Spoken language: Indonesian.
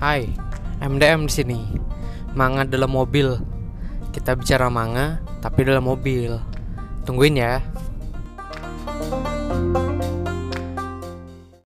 Hai, MDM di sini. Manga dalam mobil. Kita bicara manga tapi dalam mobil. Tungguin ya.